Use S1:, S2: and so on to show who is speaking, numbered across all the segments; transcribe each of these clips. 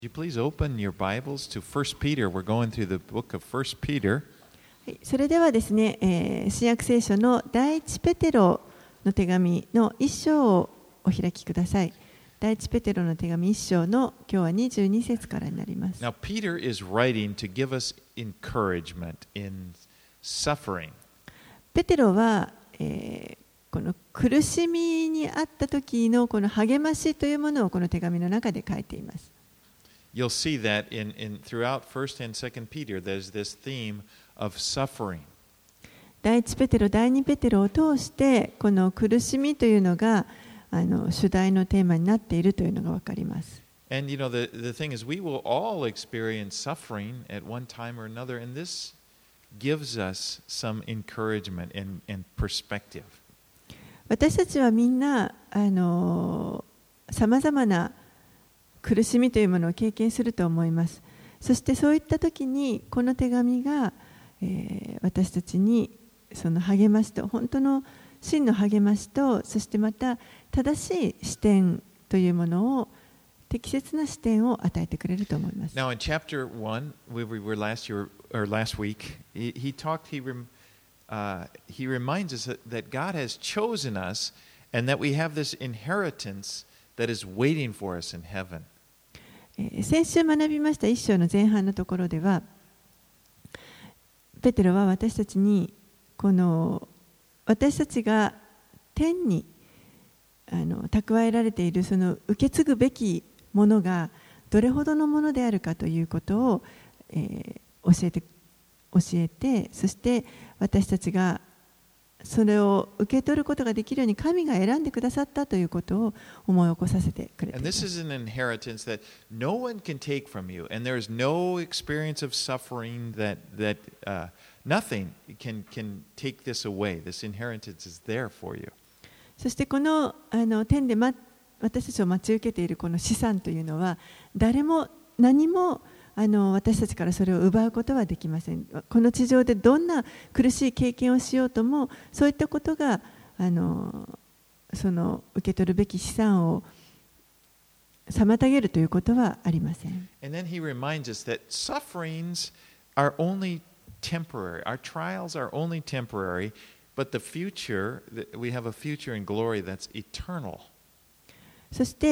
S1: Would you please open your Bibles to 1 Peter? We're going through the book of 1 Peter.
S2: はい、それではですね、新約聖書の第一ペテロの手紙の一章をお開きください。第一ペテロの手紙一章の今日は22節からになります。
S1: Now, Peter is writing to give us encouragement in suffering.
S2: ペテロは、この苦しみにあった時のこの励ましというものをこの手紙の中で書いています。
S1: You'll see that throughout 1st and 2nd Peter, there's this theme of suffering.
S2: 第一ペテロ、第二ペテロを通してこの苦しみというのが主題のテーマになっているというのがわかります。
S1: And you know, the thing is, we will all experience suffering at one time or another, and this gives us some encouragement and perspective.
S2: 私たちはみんなさまざまな苦しみというものを経験すると思います。そしてそういった時にこの手紙が、私たちにその励ましと本当の真の励ましと、そしてまた正しい視点というものを適切な視点を与えてくれると思います。
S1: Now in chapter 1, we were last week, he reminds us that God has chosen us and that we have this inheritance that is waiting for us in heaven.
S2: 先週学びました一章の前半のところでは、ペテロは私たちに私たちが天に蓄えられているその受け継ぐべきものがどれほどのものであるかということを、教えて、そして私たちがそれを受け取ることができるように神が選んでくださったということを思い起こさせてくれています。
S1: And this is an inheritance that no one can take from you, and there is no experience of suffering that nothing can take this away. This inheritance is there for you.
S2: そしてこの天で私たちを待ち受けているこの資産というのは誰も何も私たちからそれを奪うことはできません。この地上でどんな苦しい経験をしようとも、そういったことがその受け取るべき資産を妨げるということはありません。
S1: And then he reminds us that sufferings are only temporary. Our trials are only temporary, but the future, we have a future in glory that's eternal. そして、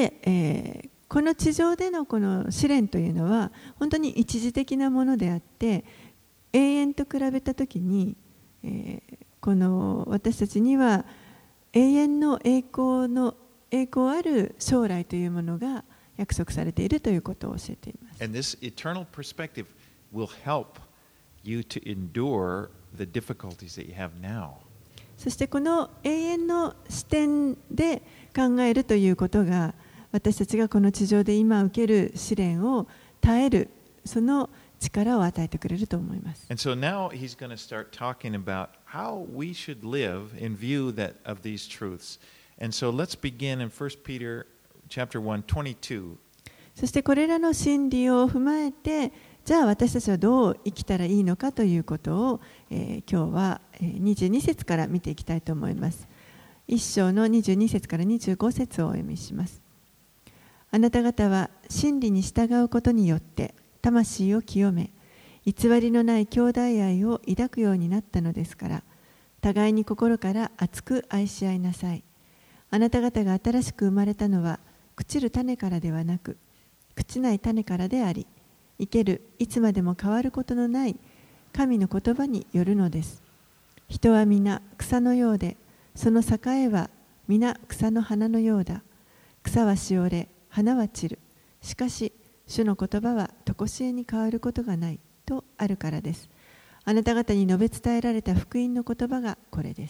S1: この地上でのこの試練というのは本当に一時的なものであって、永遠と比べたときに、この私たちには永遠の栄光ある将来というものが約束されているということを教えています。 And this eternal perspective will help you to endure the difficulties that you have now.
S2: そしてこの永遠の視点で考えるということが、私たちがこの地上で今受ける試練を耐えるその力を与えてくれると思います。
S1: And so now he's going to start talking about how we should live in view of these truths. And so let's begin in 1 Peter chapter 1, 22.
S2: そしてこれらの真理を踏まえて、じゃあ私たちはどう生きたらいいのかということを、今日は22節から見ていきたいと思います。1章の22節から25節をお読みします。あなた方は真理に従うことによって魂を清め、偽りのない兄弟愛を抱くようになったのですから、互いに心から熱く愛し合いなさい。あなた方が新しく生まれたのは朽ちる種からではなく、朽ちない種からであり、生けるいつまでも変わることのない神の言葉によるのです。人は皆草のようで、その栄は皆草の花のようだ。草はしおれ、花は散る。しかし、主の言葉は常しえに変わることがないとあるからです。あなた方に述べ伝えられた福音の言葉がこれです。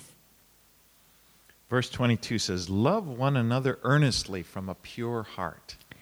S1: Verse 22 says, Love one another earnestly from a pure heart.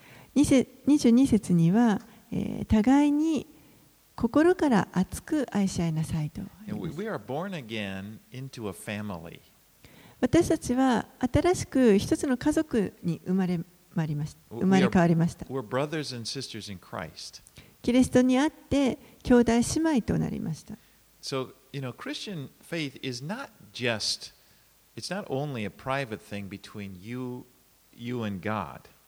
S2: 22節には、互いに心から熱く愛し合いなさいと。
S1: We are born again into a family.
S2: 私たちは新しく一つの家族に生まれ変わりました。
S1: We're brothers and sisters in Christ.
S2: キリストにあって兄弟姉妹となりました。
S1: So, Christian faith is not just, it's not only a private thing between you and God.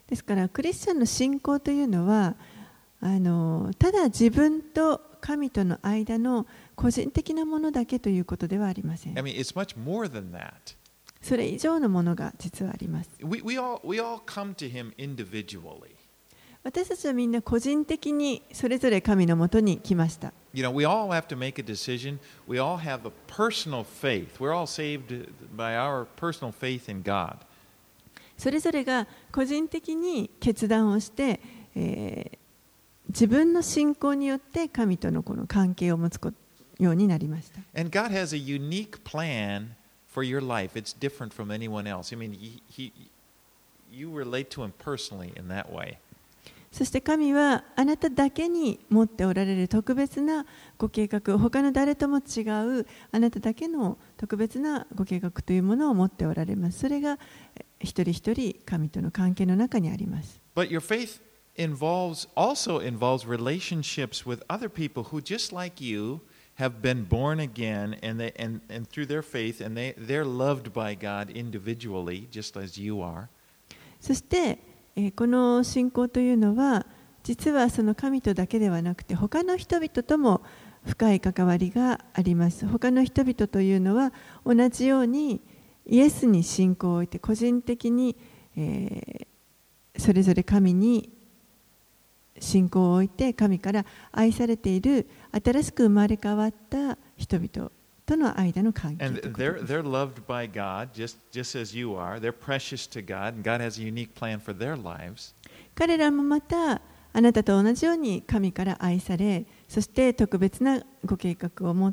S2: ですからクリスチャンの信仰というのはただ自分と神との間の個人的なものだけということではありません。
S1: I mean, it's much more than that.
S2: それ以上のものが実はあります。
S1: We all come to Him individually.
S2: 私たちはみんな個人的にそれぞれ神のもとに来ました。
S1: You know, we all have to make a decision. We all have a personal faith. We're all saved by our personal faith in God.
S2: それぞれが個人的に決断をして、自分の信仰によって神とのこの関係を持つようになりました。
S1: And God has a unique plan for your life. It's different from anyone else. I mean, you relate to Him personally in that way.
S2: そして神はあなただけに持っておられる特別なご計画、他の誰とも違うあなただけの特別なご計画というものを持っておられます。それが一人一人神との関係の中にあります。
S1: But your faith also involves relationships with other people who, just like you, have been born again, and through their faith, and they're loved by God individually, just as you are.
S2: そしてこの信仰というのは実はその神とだけではなくて他の人々とも深い関わりがあります。他の人々というのは同じようにイエスに信仰を置いて個人的に、それぞれ神に信仰を置いて神から愛されている新しく生まれ変わった人々との間の関係。
S1: And they're loved by God just as you are. They're precious to God, and God has a unique plan for their lives.
S2: 彼らもまたあなたと同じように神から愛され、そして特別なご計画を持って、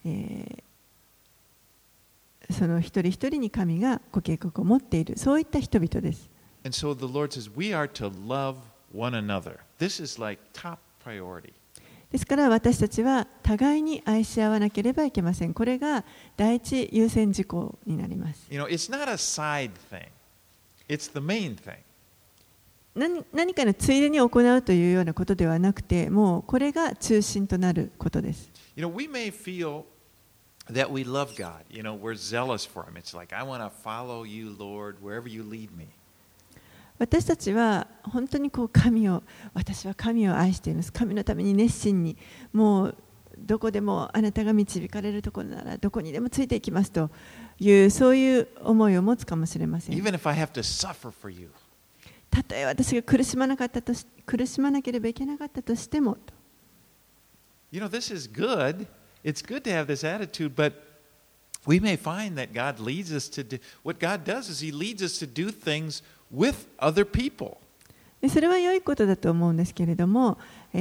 S2: その一人一人に神がご計画を持っている、そういった人々です。
S1: And so the Lord says we are to love one another. This is like top priority.
S2: ですから私たちは互いに愛し合わなければいけません。これが第一優先事項になります。
S1: You know, it's not a side thing. It's the main thing.
S2: 何かのついでに行うというようなことではなくて、もうこれが中心となることです。
S1: You know, we may feel that we love God. You know, we're zealous for Him. It's like, I want to follow you, Lord, wherever you lead me.
S2: 私たちは本当に私は神を愛しています。神のために熱心に、もうどこでもあなたが導かれるところならどこにでもついていきますという、そういう思いを持つかもしれません。
S1: Even if I have to suffer for you.
S2: たとえ私が苦しまなければいけなかったとしても。
S1: You know, this is good. It's good to have this attitude, but we may find that God leads us to do, what God does is He leads us to do things with other people.
S2: それは良いことだと思うんですけれども、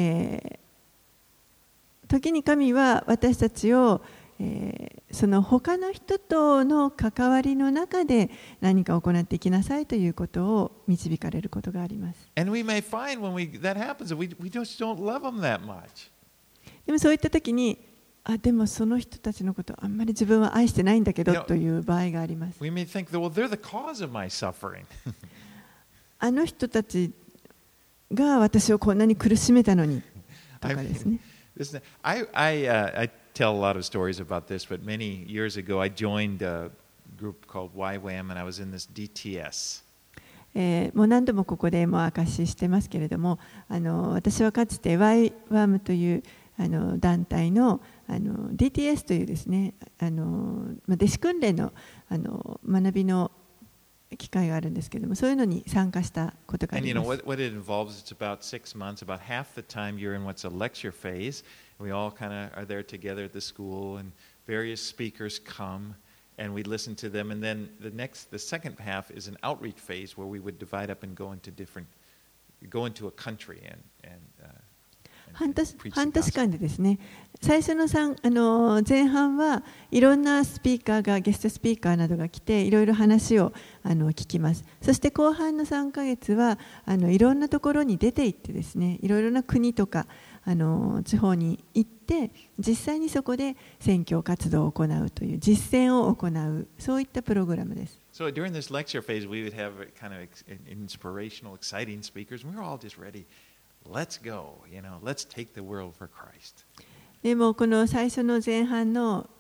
S2: 時に神は私たちを、その他の人との関わりの中で何か行っていきなさいということを導かれることがあります。
S1: And we may find when that happens that we just don't love them that much.
S2: でもそういった時に、でもその人たちのことあんまり自分は愛してないんだけどという場合があります。
S1: We may think that, well, they're the cause of my suffering.
S2: あの人たちが私をこんなに苦しめたのにとかですね。
S1: I tell a lot of stories about this, but many years ago I joined a group called YWAM and I was in this DTS.
S2: もう何度もここでも証ししてますけれども、私はかつて YWAM という団体のDTS というですね、弟子訓練の学びの機会があるんですけれども、そういうのに参加したことがあります。
S1: And you know what it involves? It's about 6 months. About half the time you're in what's a lecture phase. We all kind of are there together at the school, and various speakers come, and we listen to them. And then the second half is an outreach phase where we would divide up and go into a country and
S2: 半年間でですね、最初の前半はいろんなスピーカーがゲストスピーカーなどが来ていろいろ話を聞きます。そして後半の3ヶ月はいろんなところに出て行ってですね、いろいろな国とか地方に行って実際にそこで宣教活動を行うという実践を行う、そういったプログラムです。
S1: So during this lecture phase, we would have kind of inspirational, exciting speakers. We were all just ready. Let's go, you know, let's take the world for Christ.
S2: でもこの最初の前半の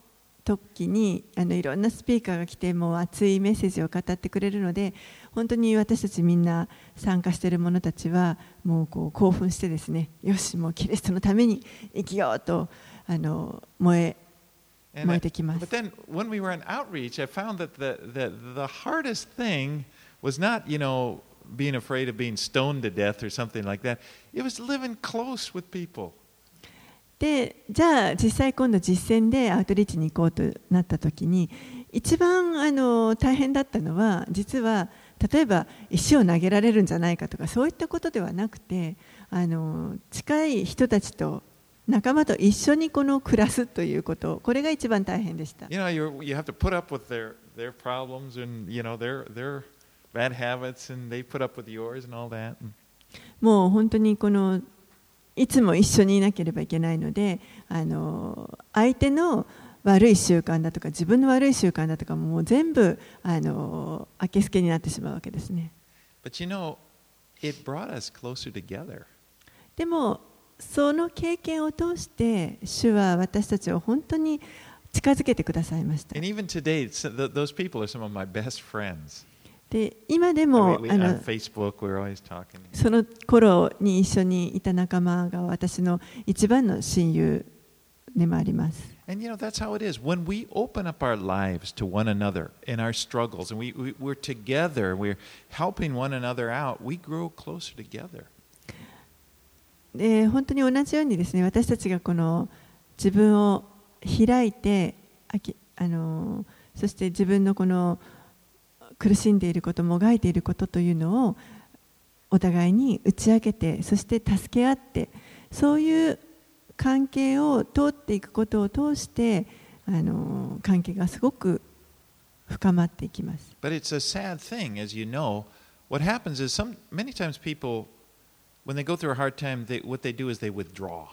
S2: 時にいろんなスピーカーが来てもう熱いメッセージを語ってくれるので、本当に私たちみんな参加している者たちはもう興奮してですね、よしもうキリストのために生きようと燃えてきます。
S1: But then when we were in outreach, I found that the hardest thing was not, being afraid of being stoned to death or something like that. It was living close with people.
S2: で、じゃあ実際今度実践でアウトリーチに行こうとなった時に、一番大変だったのは、実は例えば石を投げられるんじゃないかとかそういったことではなくて、近い人たちと仲間と一緒に暮らすということ、これが一番大変でした。
S1: You have to put up with their problems and their bad habits, and they put up with yours and all that.
S2: もう本当にいつも一緒にいなければいけないので、相手の悪い習慣だとか自分の悪い習慣だとかもう全部明けすけになってしまうわけですね。
S1: But it brought us closer together.
S2: でもその経験を通して主は私たちを本当に近づけてくださいました。
S1: And even today, those people are some of my best friends.
S2: で今でも
S1: on Facebook, we're always talking.
S2: その頃に一緒にいた仲間が私の一番の親友でもあります。
S1: And that's how it is. When we open up our lives to one another in our struggles, and we're together, we're helping one another out, we grow closer together.
S2: で本当に同じようにですね、私たちが自分を開いて、そして自分の苦しんでいること、もがいていることというのをお互いに打ち明けて、そして助け合って、そういう関係を通っていくことを通して関係がすごく深まっていきます。
S1: But it's a sad thing, as you know. What happens is many times people, when they go through a hard time, what they do is they withdraw.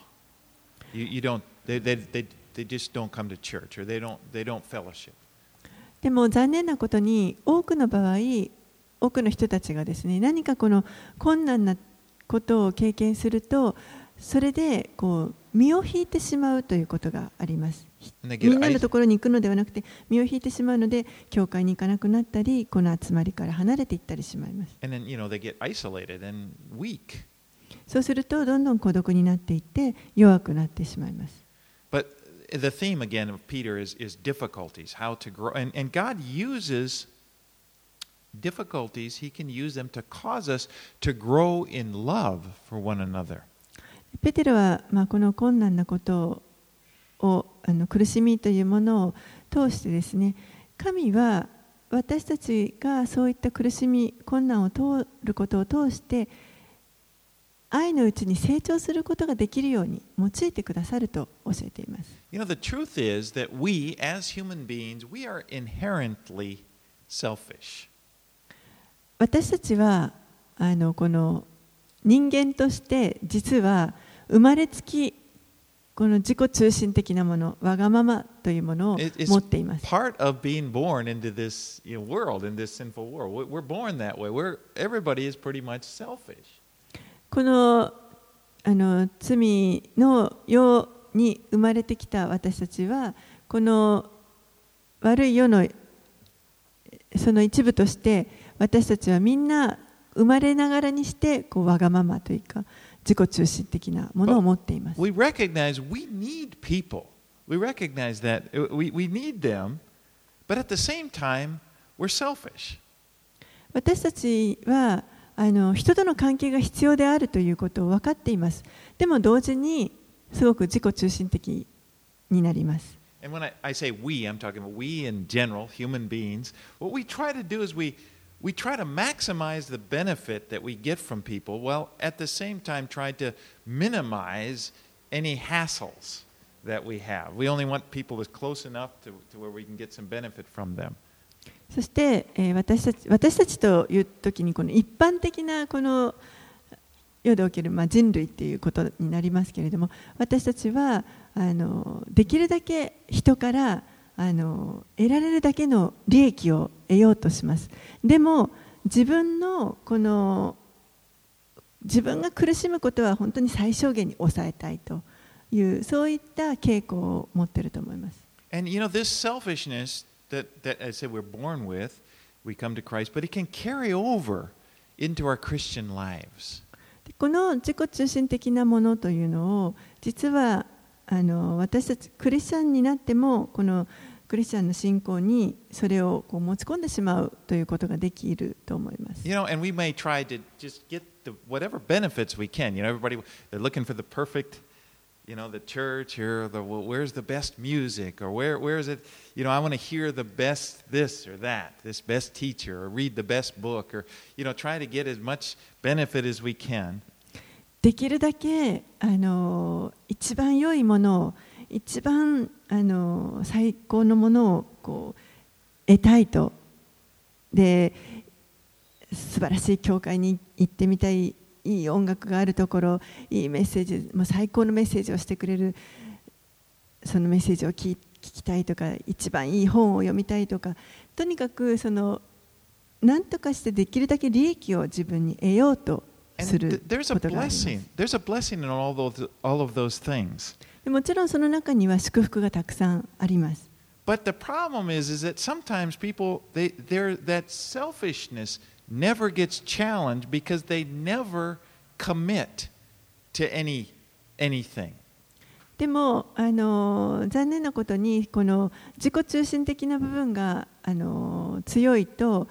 S1: They just don't come to church, or they don't fellowship.
S2: でも残念なことに多くの場合、多くの人たちがですね、何か困難なことを経験すると、それで身を引いてしまうということがあります。みんなのところに行くのではなくて、身を引いてしまうので、教会に行かなくなったり、この集まりから離れていったりしまいます。
S1: And then, they get isolated and weak.
S2: そうすると、どんどん孤独になっていって、弱くなってしまいます。
S1: But the theme again of Peter is difficulties, how to grow. And God uses difficulties, He can use them to cause us to grow in love for one another.
S2: ペテロは、この困難なことを苦しみというものを通してですね、神は私たちがそういった苦しみ、困難を通ることを通して愛のうちに成長することができるように用いてくださると教えています。
S1: The truth is that we, as human beings, we are inherently selfish.
S2: 私たちはこの人間として実は生まれつきこの自己中心的なもの、わがままというものを持っています。
S1: Part of being born into this world, in this sinful world. We're born that way. Everybody is pretty much selfish.
S2: この罪の世に生まれてきた私たちは、この悪い世のその一部として、私たちはみんな生まれながらにしてわがままというか自己中心的なものを持っています。
S1: We recognize we need people. We recognize that we need them, but at the same time, we're selfish.
S2: 私たちは人との関係が必要であるということを分かっています。でも同時にすごく自己中心的になります。
S1: And when I say we, I'm talking about we in general, human beings. What we try to do is we try to maximize the benefit that we get from people, while at the same time try to minimize any hassles that we have. We only want people that's close enough to where we can get some benefit from them.
S2: そして、私たちというときにこの一般的なこの世でおける人類ということになりますけれども、私たちはできるだけ人から得られるだけの利益を得ようとします。でも自分が苦しむことは本当に最小限に抑えたいという、そういった傾向を持っていると思います。
S1: And this selfishness that I said we're born with, we come to Christ, but it can carry over into our Christian lives.
S2: この自己中心的なものというのを実は私たちクリスチャンになってもこのクリスチャンの信仰にそれをこう持ち込んでしまうということができると思います。
S1: And we may try to just get whatever benefits we can. Everybody they're looking for the perfect, the church or where's the best music or where is it? I want to hear the best this or that, this best teacher or read the best book or try to get as much benefit as we can.
S2: できるだけ一番良いものを一番最高のものをこう得たいとで素晴らしい教会に行ってみたい、いい音楽があるところ、いいメッセージ、もう最高のメッセージをしてくれるそのメッセージを聞きたいとか、一番いい本を読みたいとか、とにかく何とかしてできるだけ利益を自分に得ようとすることがあります。
S1: There's a blessing in all of those things.
S2: もちろんその中には祝福がたくさんあります。
S1: But the problem is that sometimes people, that selfishness never gets challenged because they never commit to anything.
S2: でも残念なことにこの自己中心的な部分が強いと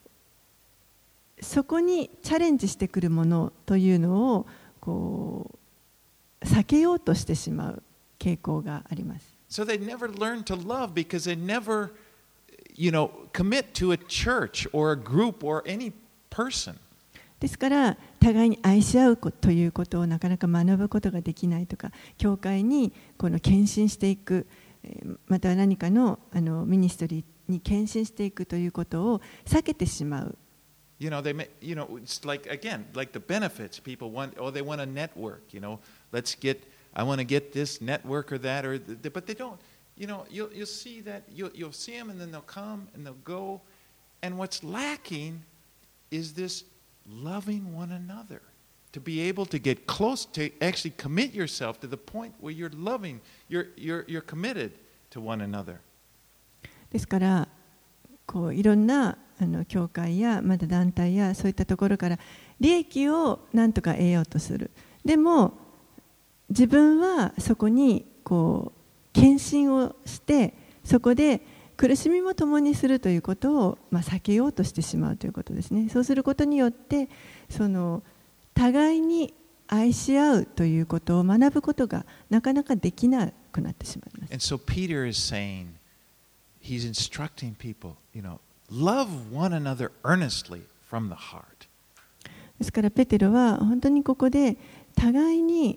S2: そこにチャレンジしてくるものというのをこう避けようとしてしまう傾向があります。
S1: So they never learn to love because they never, commit to a church or a group or any person.
S2: ですから互いに愛し合うということをなかなか学ぶことができないとか、教会にこの献身していく、または何かのミニストリーに献身していくということを避けてしまう。
S1: It's like the benefits people want. Oh, they want a network. I want to get this network or that, but they don't. You'll see that you'll see them, and then they'll come and they'll go, and what's lacking is this loving one another. To be able to get close, to actually commit yourself to the point where you're loving, you're committed to one another.
S2: ですからこういろんな教会やまた団体やそういったところから利益を何とか得ようとする。でも自分はそこにこう献身をしてそこで苦しみも共にするということを避けようとしてしまうということですね。そうすることによって互いに愛し合うということを学ぶことがなかなかできなくなってしまいます。
S1: And so Peter is saying, he's instructing people, love one another earnestly from the heart.
S2: ですからペテロは本当にここで互いに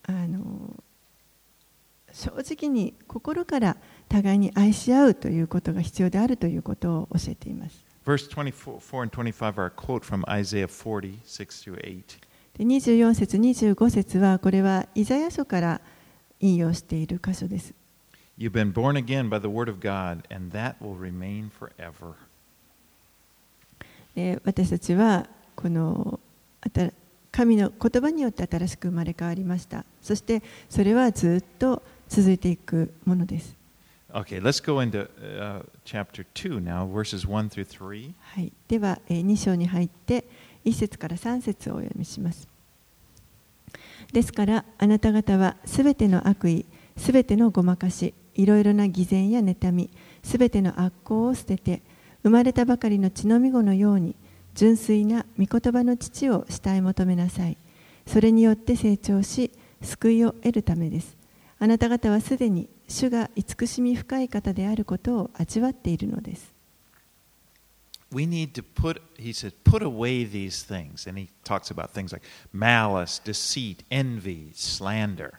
S2: 正直に心から互いに愛し合うということが必要であるということを教えています。
S1: Verse 24 and 25 are a quote from Isaiah 40, 6 through 8.
S2: 24節、25節はこれはイザヤ書から引用している箇所です。
S1: You've been born again by the word of God, and that will remain forever.
S2: 私たちはこの神の言葉によって新しく生まれ変わりました。そしてそれはずっと続いていくものです。
S1: Okay, let's go into chapter 2 now, verses 1 through 3.
S2: はい、では2章に入って1節から3節をお読みします。ですからあなた方はすべての悪意、すべてのごまかし、いろいろな偽善や妬み、すべての悪行を捨てて、生まれたばかりの血のみ子のように純粋な御言葉の父を慕い求めなさい。それによって成長し、救いを得るためです。あなた方はすでに主が慈しみ深い方であることを味わっているのです。
S1: We need to he says, put away these things. And he talks about things like malice, deceit, envy, slander.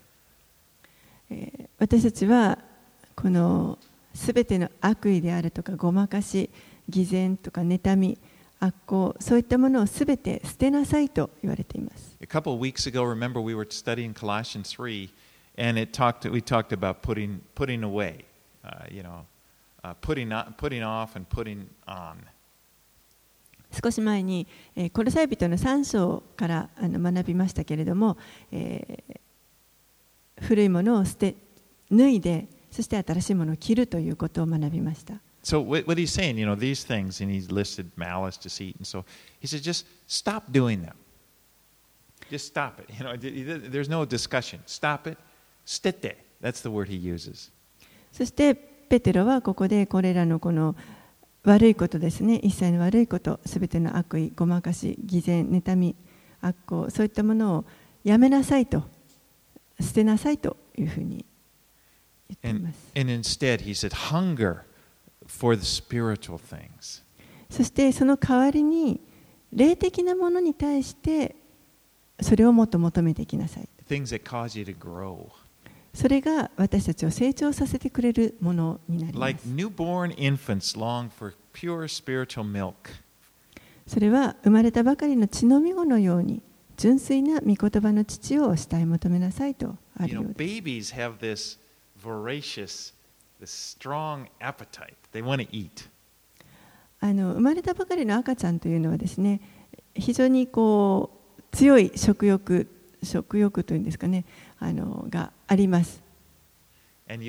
S2: 私たちはこのすべての悪意であるとかごまかし、偽善とか妬み、悪行、そういったものをすべて捨てなさいと言われています。
S1: A couple of weeks ago, remember we were studying Colossians 3, and we talked about putting away, putting off and putting on.
S2: 少し前にコロサイ人の3章から学びましたけれども、古いものを脱いでそして新しいものを着るということを学びました。
S1: So what he's saying, these things, and he's listed malice, deceit, and so he said, just stop doing them. Just stop it. There's no discussion. Stop it. Stete. That's the word he uses.
S2: そしてペテロはここでこれらのこの悪いことですね、一切の悪いこと、すべての悪意、ごまかし、偽善、妬み、悪行、そういったものをやめなさいと、捨てなさいというふうに言っています。
S1: And instead, he said, hunger for the spiritual things.
S2: そしてその代わりに霊的なものに対してそれをもっと求めていきなさい。
S1: Things that cause you to grow.
S2: それが私たちを成長させてくれるものになります。
S1: Like newborn infants long for pure spiritual milk.
S2: それは生まれたばかりの血のみ子のように純粋な御言葉の父を慕い求めなさいとあるようです。
S1: Babies have this voracious, this strong appetite. They want to eat.
S2: 生まれたばかりの赤ちゃんというのはですね、非常にこう強い食欲というんですかね、があります。
S1: And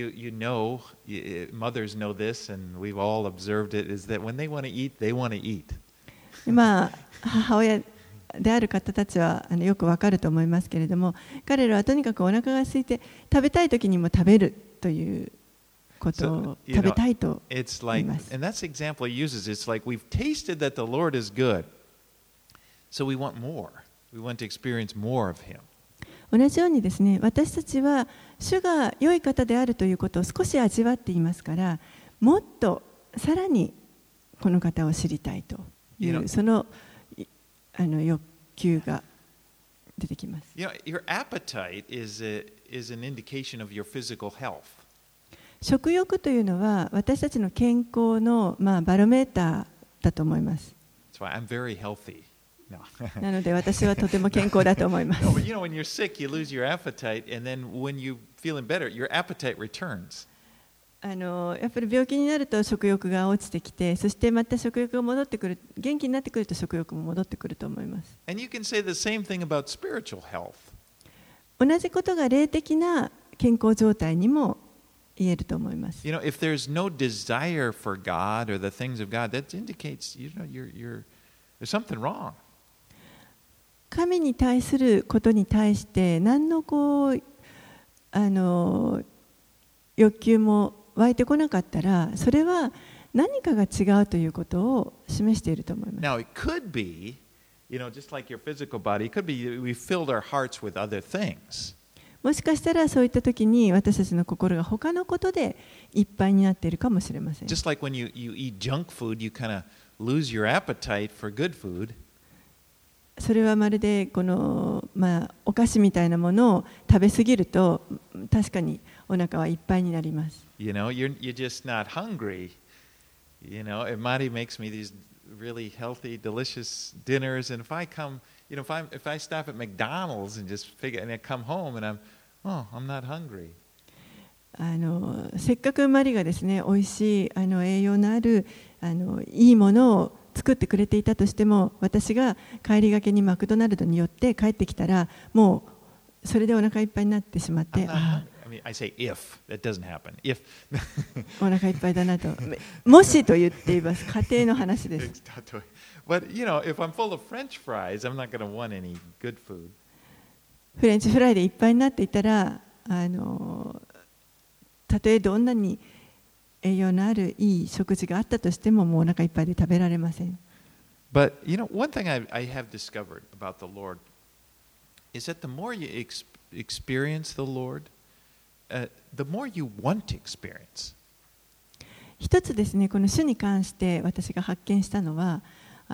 S1: mothers know this, and we've all observed it, is that when they want to eat, they want to eat.
S2: まあ母親である方たちはよくわかると思いますけれども、彼らはとにかくお腹が空いて食べたい時にも食べるということを食べたいと言います。
S1: And that's the example he uses. It's like we've tasted that the Lord is good, so we want more. We want to experience more of Him.
S2: 同じようにですね、私たちは主が良い方であるということを少し味わっていますから、もっとさらにこの方を知りたいというその欲求が出てきます。
S1: Your appetite is an indication of your physical health.
S2: 食欲というのは私たちの健康のバロメーターだと思います。
S1: That's why I'm very healthy.
S2: なので私はとても健康だと思います。
S1: When you're sick, you lose your appetite, and then when you're feeling better, your appetite returns.
S2: やっぱり病気になると食欲が落ちてきて、そしてまた食欲が戻ってくる、元気になってくると食欲も戻ってくると思います。
S1: And you can say the same thing about spiritual health.
S2: 同じことが霊的な健康状態にも言えると思います。
S1: If there's no desire for God or the things of God, that indicates there's something wrong.
S2: 神に対することに対して何の欲求も湧いてこなかったら、それは何かが違うということを示していると思います。
S1: Now, it could be, just like your physical body, it could be we filled our hearts with other things.
S2: もしかしたらそういった時に私たちの心が他のことでいっぱいになっているかもしれません。
S1: Just like when you eat junk food, you kind of lose your appetite for good food.
S2: それはまるでお菓子みたいなものを食べ過ぎると確かにお腹はいっぱいになります。
S1: You're just not hungry. Marty makes me these really healthy, delicious dinners, and if I come, if I stop at McDonald's and and I come home and I'm not hungry.
S2: せっかくマリがですね、美味しい栄養のあるいいものを作ってくれていたとしても、私が帰りがけにマクドナルドに寄って帰ってきたら、もうそれでお腹いっぱいになってしまって、
S1: I say if, that doesn't happen. If
S2: お腹いっぱいだなと、もしと言っています。家庭の話です。
S1: But if I'm full of French fries, I'm not going to want any good food.
S2: フレンチフライでいっぱいになっていたら、たとえどんなに栄養のあるいい食事があったとしても、もうお腹いっぱいで食べられません。
S1: But one thing I have discovered about the Lord is that the more you experience the Lord, the more you want to experience.
S2: 一つですね、この主に関して私が発見したのは、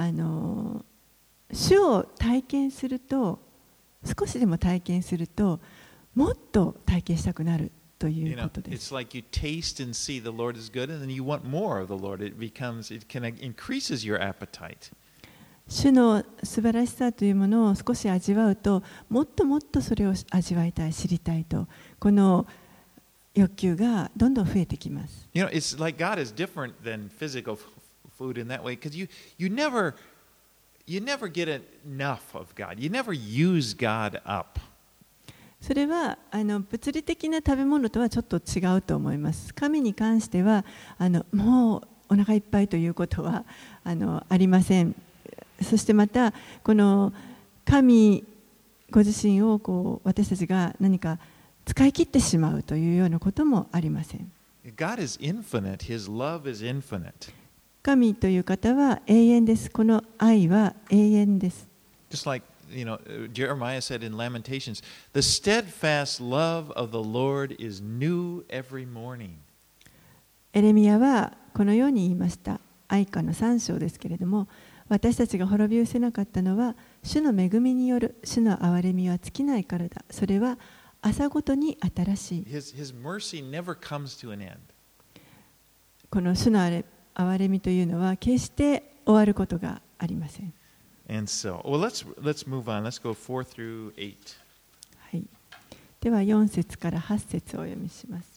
S2: 主を体験すると、少しでも体験すると、もっと体験したくなる。ということです。
S1: It's like you taste and see the Lord is good, and then you want more of the Lord. It increases your appetite.
S2: 主の素晴らしさというものを少し味わうと、もっともっとそれを味わいたい、知りたいと、この欲求がどんどん増えてきます。
S1: It's like God is different than physical food in that way, because you never get enough of God. You never use God up.
S2: それは物理的な食べ物とはちょっと違うと思います。神に関してはもうお腹いっぱいということはありません。そしてまたこの神ご自身を私たちが何か使い切ってしまうというようなこともありません。
S1: God is infinite. His love is infinite.
S2: 神という方は永遠です。この愛は永遠です。
S1: Just like Jeremiah said in Lamentations, the steadfast love of the Lord is new every morning.
S2: エレミヤはこのように言いました。哀歌の3章ですけれども、私たちが滅び失せなかったのは、主の恵みによる主の憐れみは尽きないからだ。それは朝ごとに新しい。
S1: His mercy never comes to an end.
S2: この主の憐れみというのは決して終わることがありません。
S1: And so, well, let's move on. Let's go 4 through 8.
S2: はい。では4節から8節をお読みします。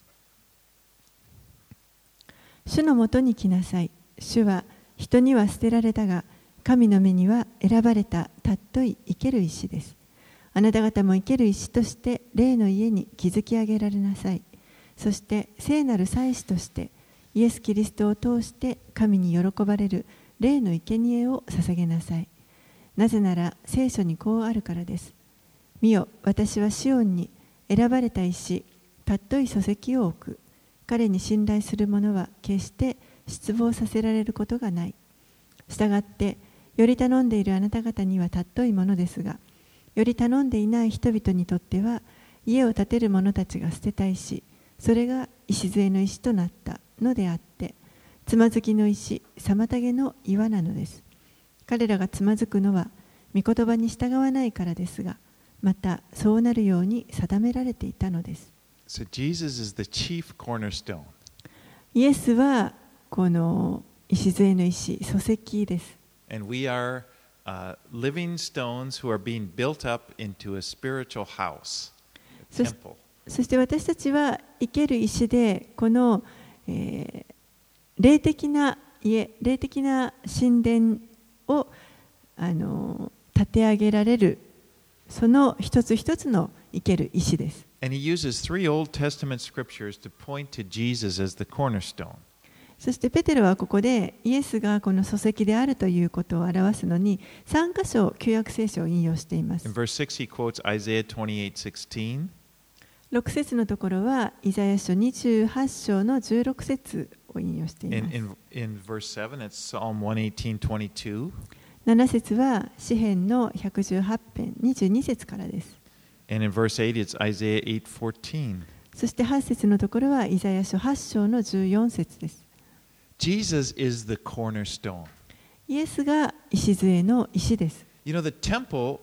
S2: 主のもとに来なさい。主は人には捨てられたが、神の目には選ばれた尊い生ける石です。あなた方も生ける石として霊の家に築き上げられなさい。そして聖なる祭司としてイエス・キリストを通して神に喜ばれる霊の生贄を捧げなさい。なぜなら聖書にこうあるからです。見よ、私はシオンに選ばれた石、尊い礎石を置く。彼に信頼する者は決して失望させられることがない。したがって、より頼んでいるあなた方には尊いものですが、より頼んでいない人々にとっては、家を建てる者たちが捨てた石、それが礎の石となったのであって、つまずきの石、妨げの岩なのです。彼らがつまずくのは、御言葉に従わないからですが、またそうなるように定められていたのです。
S1: So Jesus is the chief cornerstone.
S2: イエスはこの礎の石、礎石です。
S1: And we are living stones who are being built up into a spiritual house, a temple.
S2: そして私たちは生ける石でこの、霊的な家、霊的な神殿を建て上げられるその一つ一つの生ける石です。
S1: And he uses 3 Old Testament scriptures to point to Jesus as the cornerstone.
S2: そしてペテロはここでイエスがこの礎石であるということを表すのに3箇所旧約聖書を引用しています。
S1: In verse 6 he quotes Isaiah 28:16.
S2: 6節のところはイザヤ書28章の16節を引用しています。
S1: In verse 7 it's Psalm 118:22.
S2: 7節は詩編の118編22節からです。
S1: And in verse 8 it's Isaiah 8:14.
S2: そして8節のところはイザヤ書8章の14節です。
S1: Jesus is the cornerstone.
S2: イエスが礎の石です。
S1: You know, the temple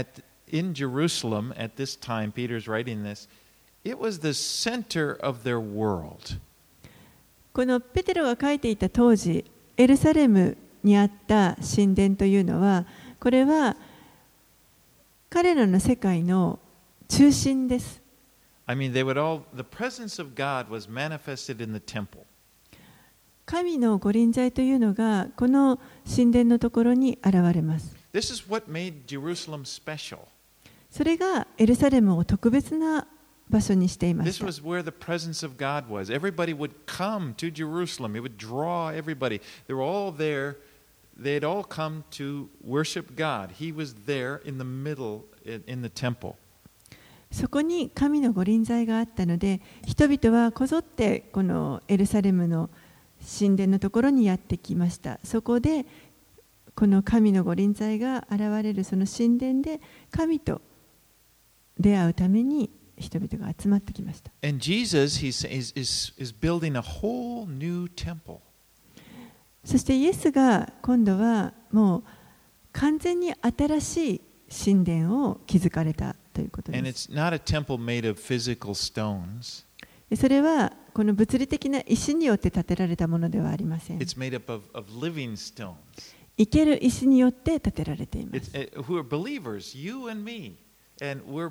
S1: in Jerusalem at this time, Peter's writing this, it was the center of their world.
S2: このペテロが書いていた当時、エルサレムにあった神殿というのは、これは彼らの世界の中心です。
S1: I mean, the presence of God was manifested in the temple.
S2: 神の御臨在というのがこの神殿のところに現れます。
S1: This is what made Jerusalem special.
S2: それがエルサレムを特別な場所にしていまし
S1: This
S2: た。
S1: was where the presence of God was. Everybody would come to Jerusalem. It would draw everybody. They were all there. They had all come to worship God. He was there in the middle in the temple.
S2: そこに神の御臨在があったので、人々はこぞってこのエルサレムの神殿のところにやってきました。そこでこの神の御臨在が現れるその神殿で神と出会うために人々が集まってきました。
S1: And Jesus is building a whole new temple.
S2: そしてイエスが今度はもう完全に新しい神殿を築かれたということで
S1: And
S2: す。
S1: it's not a temple made of physical stones.
S2: それはこの物理的な石によって建てられたものではありません。
S1: It's made up of living stones.
S2: 生ける石によって建てられています。
S1: Who are believers, you and me. And we're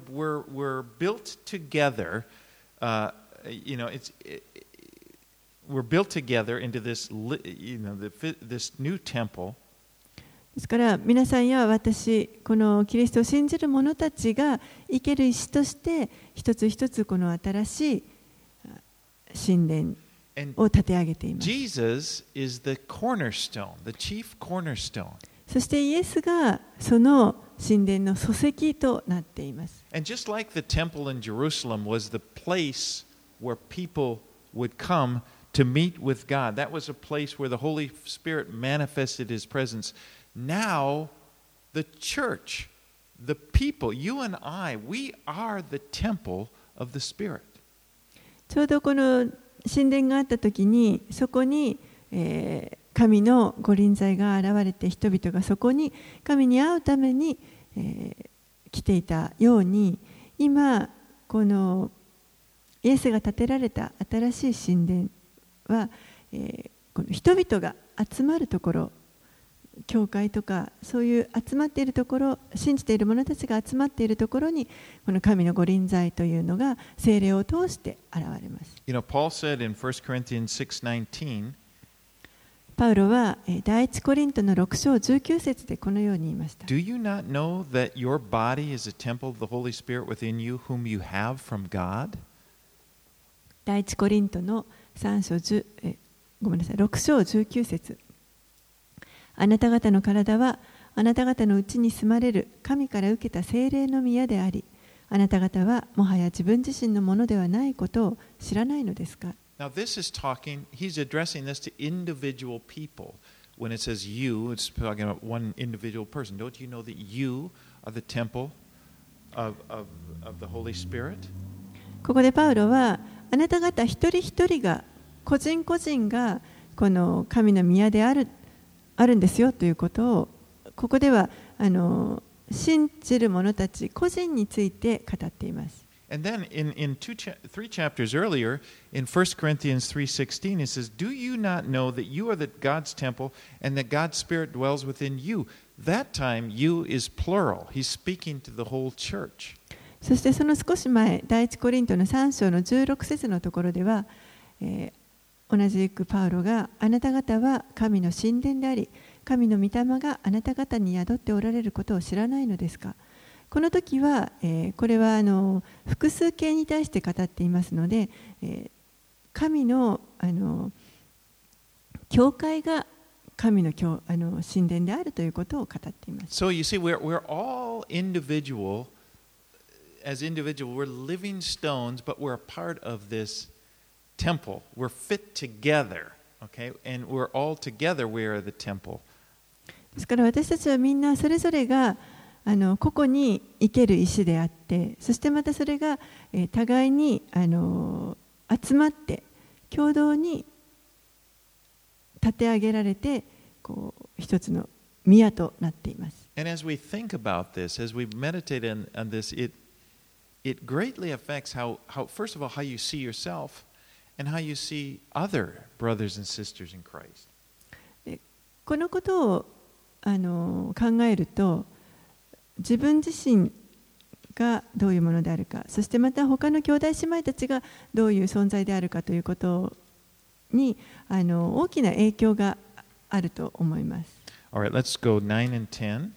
S1: built together. We're built together into this, this new temple.
S2: ですから皆さんや私、このキリストを信じる者たちが生ける石として一つ一つこの新しい神殿を立て上げています。
S1: Jesus is the cornerstone, the chief cornerstone.
S2: そしてイエスがその神殿の礎石となっています。
S1: And just like the temple in Jerusalem was the place where people would come to meet with God, that was a place where the Holy Spirit manifested His presence. Now, the church, the people, you and I, we are the temple of the Spirit.
S2: ちょうどこの神殿があったときに、そこに、神の御臨在が現れて、人々がそこに神に会うために、来ていたように、今このイエスが建てられた新しい神殿は、この人々が集まるところ、教会とかそういう集まっているところ、信じている者たちが集まっているところに、この神の御臨在というのが聖霊を通して現れます。
S1: You know, Paul said in 1 Corinthians 6:19,
S2: パウロは第一コリントの6章19節でこのように言いました。
S1: Do you not know that your body is a temple of the Holy Spirit within you, whom you have from God?
S2: 第一コリントの6章19節。あなた方の体はあなた方のうちに住まれる神から受けた聖霊の宮であり、あなた方はもはや自分自身のものではないことを知らないのですか。
S1: Now this is talking, he's addressing this to individual people. When it says you, it's talking about one individual person. Don't you know that you are the temple of the Holy Spirit?
S2: ここでパウロはあなた方一人一人が個人個人がこの神の宮であるんですよということを、ここでは信じる者たち個人について語っています。
S1: And then in 3 chapters earlier, in 1 Corinthians 3:16, it says, Do you not know that you are God's temple and that God's Spirit dwells within you? That time, you is plural. He's speaking to the whole church.
S2: そしてその少し前、第一コリントの3章の16節のところでは、同じくパウロがあなた方は神の神殿であり、神の御霊があなた方に宿っておられることを知らないのですか。この時は、これは複数形に対して語っていますので、神の教会が神の神殿であるということを語っています。
S1: So you see, we're all individual. As individual, we're living stones, but we're a part of this temple. We're fit together, okay? And we're all together. We are the temple.
S2: ですから私たちはみんなそれぞれが個々に生ける石であって、そしてまたそれが互いに集まって共同に立て上げられて、こう一つの宮となっています。
S1: And as we think about this, as we meditate on this, it greatly affects how first of all, how you see yourself and how you see other brothers and sisters in Christ.
S2: このことを考えると、自分自身がどういうものであるか、そしてまた他の兄弟姉妹たちがどういう存在であるかということに大きな影響があると思います。
S1: All right, let's go 9 and 10.
S2: はい、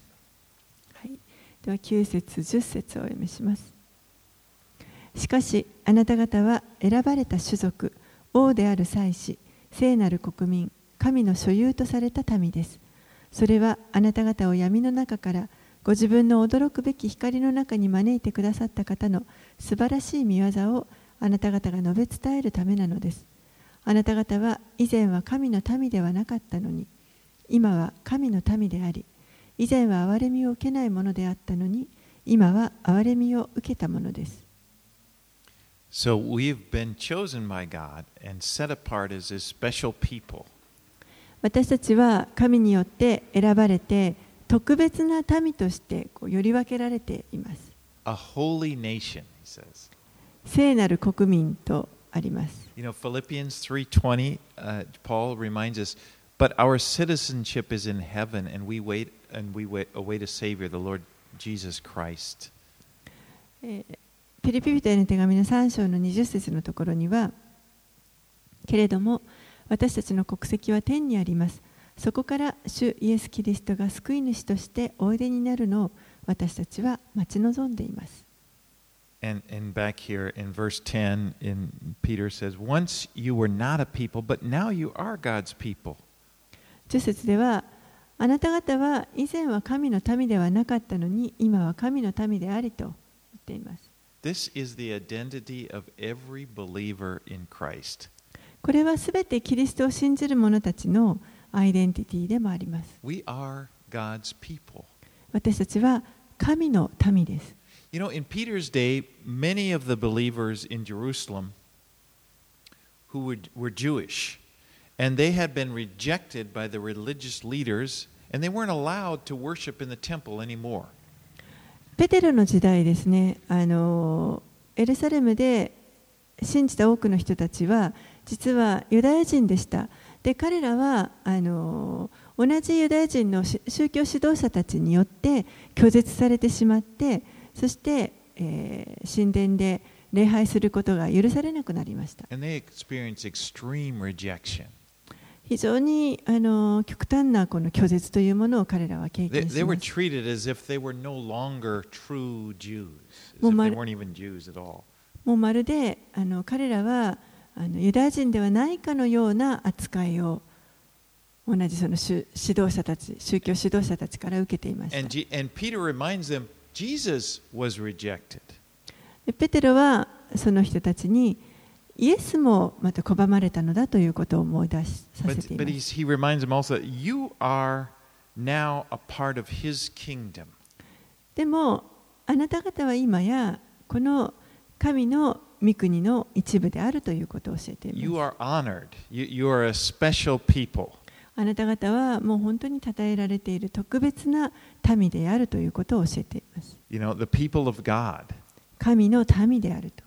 S2: では9節10節をお読みします。しかしあなた方は選ばれた種族、王である祭司、聖なる国民、神の所有とされた民です。それはあなた方を闇の中からご自分の驚くべき光の中に招いてくださった方の素晴らしい御業をあなた方が述べ伝えるためなのです。あなた方は以前は神の民ではなかったのに、今は神の民であり、以前は憐れみを受けないものであったのに、今は憐れみを受けたものです。
S1: So we've been chosen by God and set apart as His special people.
S2: 私たちは神によって選ばれて、特別な民としてより分けられています。
S1: A holy nation, he says.
S2: 聖なる国民とあります。
S1: You know, Philippians 3:20, Paul reminds us, but our citizenship is in heaven, and we await a Savior, the Lord Jesus Christ.
S2: ピリピ人への手紙の3章の20節のところには、けれども私たちの国籍は天にあります。 そこから主イエス・キリストが救い主としておいでになるのを私たちは待ち望んでいます。
S1: And back here in verse 10, Peter says, Once you were not a people, but now you are God's people.
S2: 10節では、あなた方は以前は神の民ではなかったのに、今は神の民でありと言っています。
S1: This is the identity of every believer in Christ.
S2: これはすべてキリストを信じる者たちのアイデンティティでもあります。
S1: We are God's people.
S2: 私たちは神の民です。
S1: You know, in Peter's day, many of the believers in Jerusalem who were Jewish, and they had been rejected by the religious leaders, and they weren't allowed to worship in the temple anymore.
S2: ペテロの時代ですね、エルサレムで信じた多くの人たちは実はユダヤ人でした。で、彼らは同じユダヤ人の宗教指導者たちによって拒絶されてしまって、そして、神殿で礼拝することが許されなくなりました。
S1: And they experienced extreme rejection.
S2: 非常に極端なこの拒絶というものを彼らは経験し
S1: They
S2: ま
S1: were
S2: す。
S1: treated as if they were no longer true Jews, as if they weren't even Jews at all.
S2: もうまるで彼らはユダヤ人ではないかのような扱いを同じその指導者たち、宗教指導者たちから受けていました。
S1: And Peter reminds them, Jesus was rejected.
S2: ペテロはその人たちにイエスもまた拒まれたのだということを思い出させてい
S1: But
S2: ます。
S1: he reminds them also that you are now a part of his kingdom.
S2: でもあなた方は今やこの神の御国の一部であるということを教えています。
S1: You are honored. You are a special people.
S2: あなた方はもう本当に称えられている特別な民であるということを教えています。
S1: You know, the people of God.
S2: 神の民であると。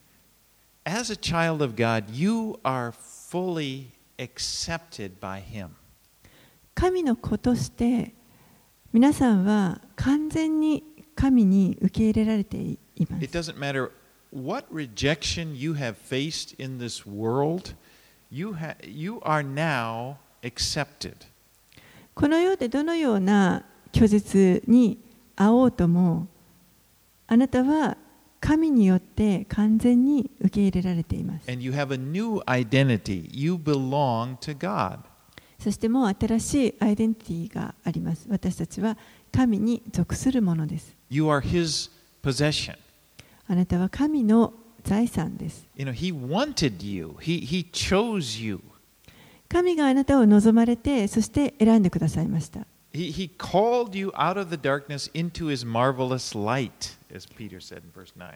S1: As a child of God, you are fully accepted by him.
S2: 神の子として皆さんは完全に神に受け入れられています。
S1: It doesn't matter what rejection you have faced in this world, you are now accepted.
S2: この世でどのような拒絶に遭おうとも、あなたは神によって完全に受け入れられています。
S1: And you have a new identity. You belong to God.
S2: そしてもう新しいアイデンティティがあります。私たちは神に属するものです。
S1: You are his possession.
S2: あなたは神の財産です。
S1: You know, he wanted you. He chose you.
S2: 神があなたを望まれて、そして選んでくださいました。
S1: He called you out of the darkness into his marvelous light, as Peter said in verse 9.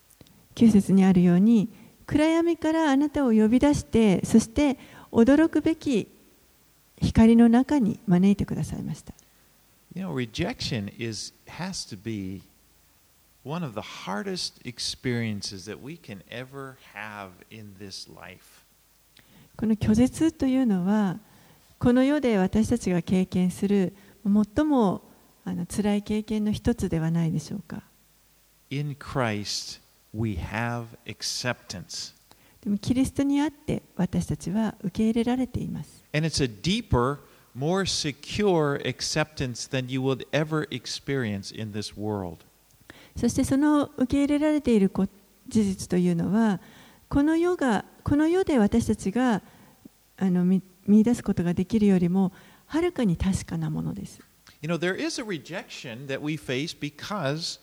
S2: 9節にあるように、暗闇からあなたを呼び出して、そして驚くべき光の中に招いてくださいました。
S1: You know, rejection has to be one of the hardest experiences that we can ever have in this life.
S2: この拒絶というのは、この世で私たちが経験する最も辛い経験の一つではないでしょうか。
S1: In Christ, we have acceptance.
S2: でもキリストにあって私たちは受け入れられています。
S1: And it's a deeper, more secure acceptance than you would ever experience in this world.
S2: そしてその受け入れられている事実というのは、この世で私たちが見出すことができるよりもはるかに確かなものです。
S1: You know, there is a rejection that we face because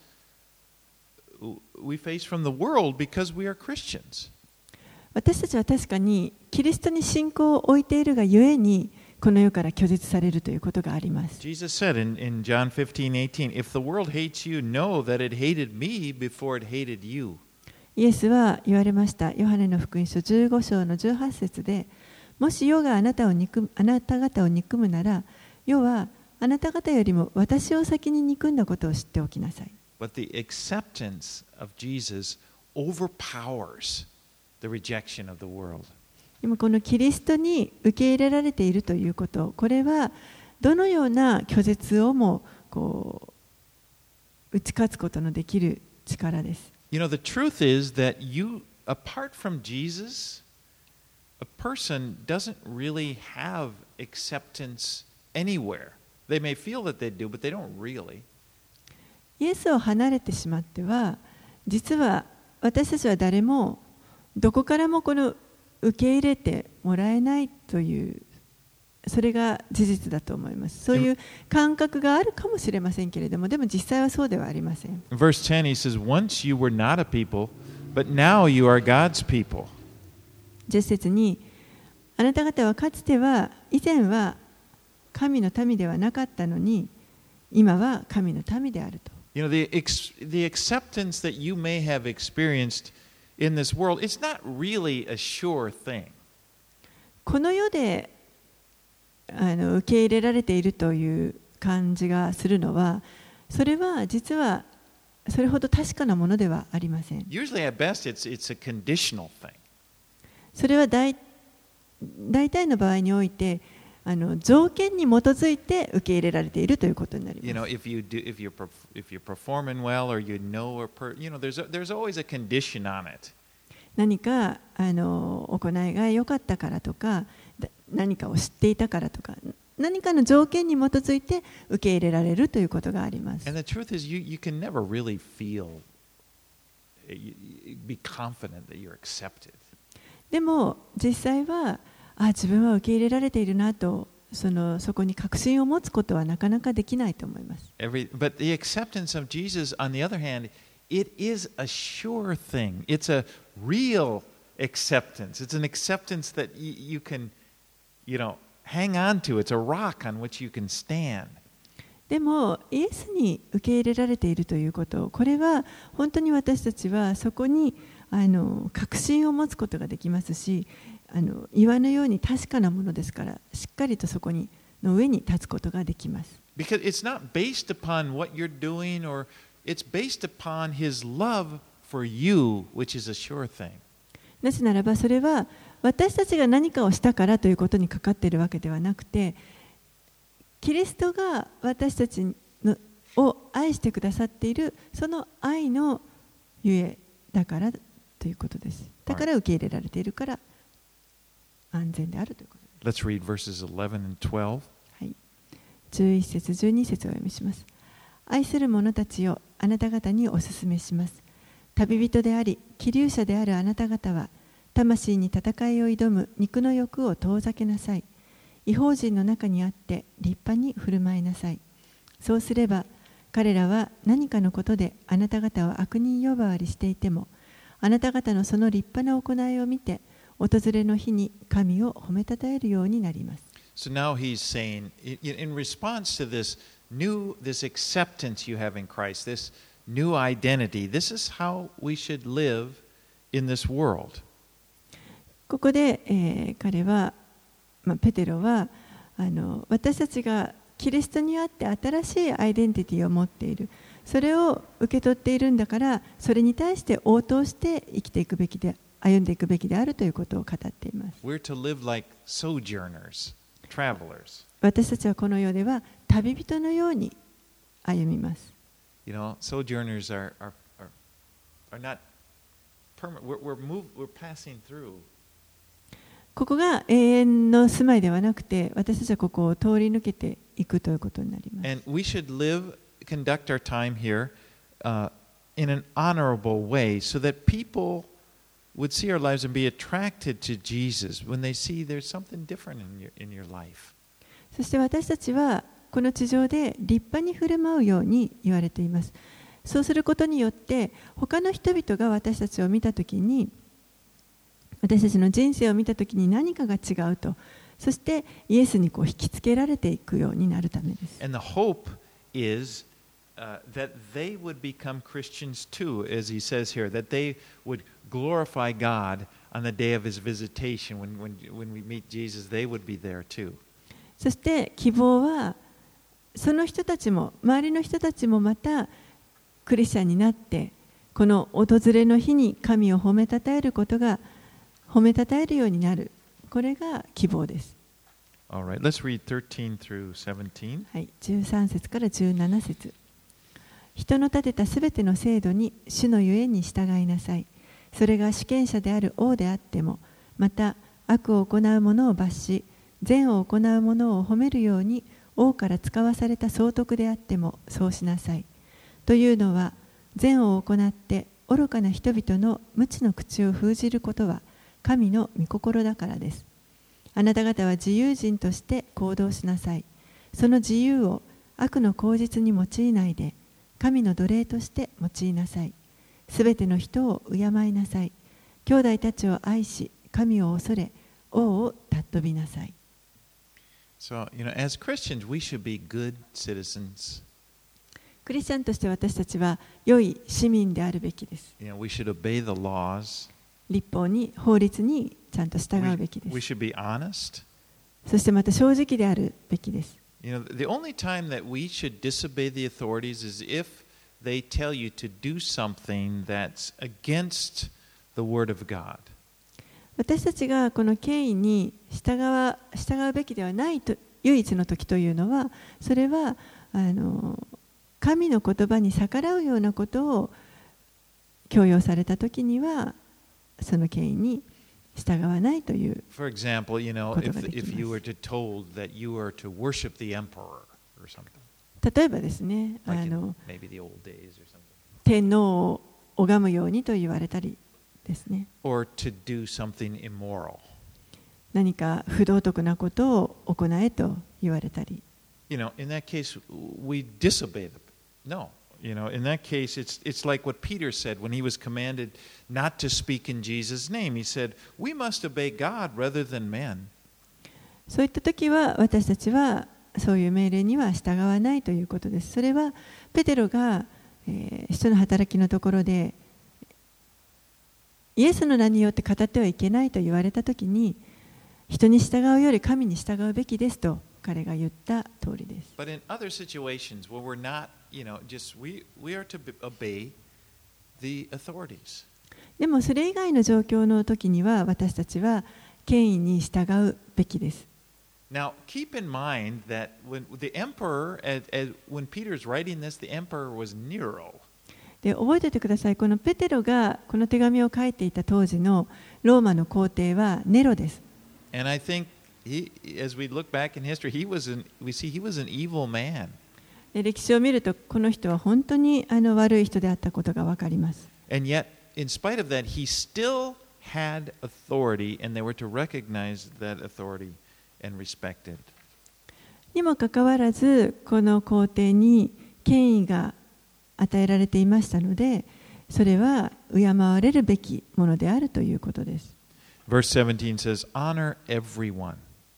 S1: we face from the world because we are Christians.
S2: 私たちは確かにキリストに信仰を置いているがゆえにこの世から拒絶されるということがあります。
S1: Jesus said in John 15:18, If the world hates you, know that it hated me before it hated you.
S2: イエスは言われました。ヨハネの福音書15章の18節で、もし世があなた方を憎むなら、世はあなた方よりも私を先に憎んだことを知っておきなさい。
S1: But the acceptance of Jesus overpowers the rejection of the world.
S2: 今このキリストに受け入れられているということ、これはどのような拒絶をも打ち勝つことのできる力です。
S1: You know, the truth is that apart from Jesus, a person doesn't really have acceptance anywhere. They may feel that they do, but they don't really.
S2: イエスを離れてしまっては、実は私たちは誰もどこからもこの受け入れてもらえないという、それが事実だと思います。そういう感覚があるかもしれませんけれども、でも実際はそうではありません。
S1: Verse 10, he says, Once you were not a people, but now you are God's people.
S2: 10節に、あなた方はかつては、以前は神の民ではなかったのに、今は神の民であると。
S1: You know, the acceptance that you may have experienced in this world, it's not really a sure thing.
S2: この世で受け入れられているという感じがするのは、それは実はそれほど確かなものではありません。
S1: Usually at best it's a conditional thing.
S2: それは大体の場合において条件に基づいて受け入れられているということになります。
S1: You know, if you're performing well or you know there's always a condition on it.
S2: 何か行いが良かったからとか、何かを知っていたからとか、何かの条件に基づいて受け入れられるということがあります。
S1: And the truth is, you can never really be confident that you're accepted.
S2: でも実際は自分は受け入れられているなとそこに確信を持つことはなかなかできないと思います。
S1: But the acceptance of Jesus, on the other hand, it is a sure thing. It's a real acceptance. It's an acceptance that you can, hang on to. It's a rock on which you can stand.
S2: でもイエスに受け入れられているということ、これは本当に私たちはそこに確信を持つことができますし、岩のように確かなものですから、しっかりとそこの上に立つことができます。
S1: Because it's not based upon what you're doing, or it's based upon His love for you, which is a sure thing.
S2: なぜならばそれは私たちが何かをしたからということにかかっているわけではなくて、キリストが私たちを愛してくださっているその愛のゆえだからということです。だから受け入れられているから安全であるということです。
S1: Let's read verses 11 and 12.
S2: はい、11節12節をお読みします。愛する者たちよ、あなた方にお勧めします。旅人であり、気流者であるあなた方は、魂に戦いを挑む肉の欲を遠ざけなさい。異邦人の中にあって立派に振る舞いなさい。そうすれば、彼らは何かのことであなた方を悪人呼ばわりしていても、あなた方のその立派な行いを見て、訪れの日に神を褒めたたえるようになります。
S1: So now he's saying, in response to this acceptance you have in Christ, this new identity, this is how we should live in this world.
S2: ここで、彼は、ペテロは私たちがキリストにあって新しいアイデンティティを持っている。それを受け取っているんだから、それに対して応答して生きていくべきで、歩んでいくべきであるということを語っています。
S1: We're to live like sojourners, travelers.
S2: 私たちはこの世では旅人のように歩みます。
S1: You know, sojourners are not permanent. We're passing through.
S2: ここが永遠の住まいではなくて、私たちはここを通り抜けていくということになります。
S1: And we should conduct our time here in an honorable way, so that people would see our lives and be attracted to Jesus when they see there's something different in your life.
S2: そして私たちはこの地上で立派に振る舞うように言われています。そうすることによって他の人々が私たちを見たときに、私たちの人生を見たときに何かが違うと、そしてイエスに引きつけられていくようになるためです。
S1: And the hope is that they would become Christians too, as he says here, that they would glorify God on the day of his visitation. When we meet Jesus, they would be there too.
S2: そして希望は、その人たちも、周りの人たちもまたクリスチャンになって、この訪れの日に神を褒めたたえることが、褒めたたえるようになる。これが希望です。
S1: All right, let's read 13 through 17.
S2: はい、13節から17節。人の立てたすべての制度に主のゆえに従いなさい。それが主権者である王であっても、また悪を行う者を罰し、善を行う者を褒めるように王から使わされた総督であってもそうしなさい。というのは、善を行って愚かな人々の無知の口を封じることは神の御心だからです。あなた方は自由人として行動しなさい。その自由を悪の口実に用いないで、神の奴隷として用いなさい。すべての人を敬いなさい。兄弟たちを愛し、神を恐れ、王を尊びなさい。
S1: So, as Christians, we should be good citizens.
S2: クリスチャンとして私たちは良い市民であるべきです。
S1: We should obey the laws.
S2: 立法に、法律にちゃんと従うべきで
S1: We
S2: す。
S1: should be honest.
S2: そしてまた正直であるべきです。
S1: The only time that we should disobey the authorities is if they tell you to do something that's against the Word of God.
S2: 私たちがこの権威に従うべきではないと唯一の時というのは、それは神の言葉に逆らうようなことを強要された時には、その権威に従わないという。
S1: For example, if you were told that you are to worship the emperor or something,
S2: 例えばですね、
S1: like in maybe the old days or something,
S2: 天皇を拝むようにと言われたりですね。
S1: or to do something immoral.
S2: 何か不道徳なことを行えと言われたり。
S1: In that case, we disobey them. No. In that case, it's like what Peter said when he was commanded not to speak in Jesus' name. He said, we must obey God rather than men.
S2: そういった時は私たちはそういう命令には従わないということです。それはペテロが、使徒の働きのところでイエスの名によって語ってはいけないと言われた時に、人に従うより神に従うべきですと彼が言った通りです。
S1: But in other situations where we're not, we are to obey the authorities.
S2: でもそれ以外の状況の時には私たちは権威に従うべきです。
S1: Now, keep in mind that when the emperor, when Peter's writing this, the emperor was Nero.
S2: で覚えておいてください。このペテロがこの手紙を書いていた当時のローマの皇帝はネロです。
S1: And I think as we look back in history, we see he was an evil man.
S2: で歴史を見るとこの人は本当に悪い人であったことがわかります。
S1: And yet, in spite of that, he still had authority, and they were to recognize that authority and respect it.
S2: にもかかわらずこの皇帝に権威が与えられていましたので、それは敬われるべきものであるということです。
S1: Verse 17 says, honor everyone.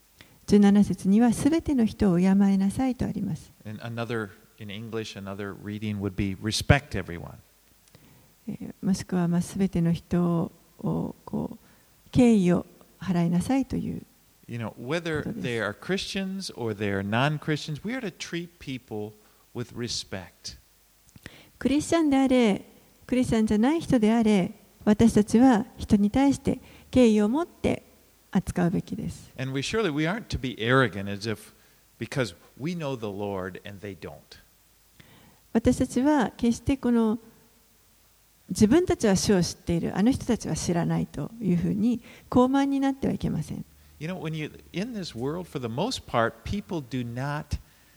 S2: 17節にはすべての人を敬いなさいとあります。
S1: And in English, another reading would be respect everyone.
S2: もしくはすべての人を敬意を払いなさいという。
S1: Whether they are Christians or they are non-Christians, we are to treat people with respect.
S2: クリスチャンであれ、クリスチャンじゃない人であれ、私たちは人に対して敬意を持って扱うべきです。
S1: And we aren't to be arrogant as if because we know the Lord and they don't.
S2: 私たちは決して自分たちは主を知っている、あの人たちは知らないというふうに傲慢になってはいけません。
S1: When you in this world, for the most part, people do not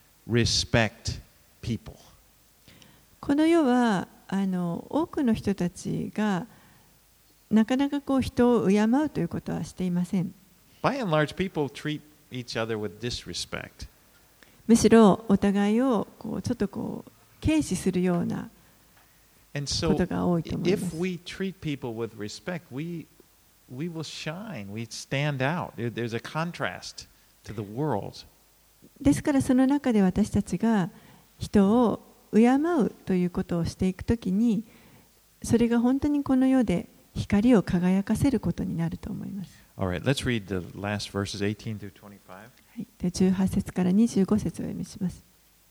S1: respect people.
S2: この世は多くの人たちがなかなか人を敬うということはしていません。
S1: By and large, people treat each other with disrespect.
S2: むしろお互いをちょっと軽視するような
S1: And so,
S2: ことが多いと思います。
S1: if we treat people with respect, we will shine. We stand out. There's a contrast to the world.
S2: ですからその中で私たちが人を敬うということをしていくときに、それが本当にこの世で光を輝かせることになると思います。
S1: All right, let's read the last verses 18 through 25.
S2: はい、で18節から25節をお読みします。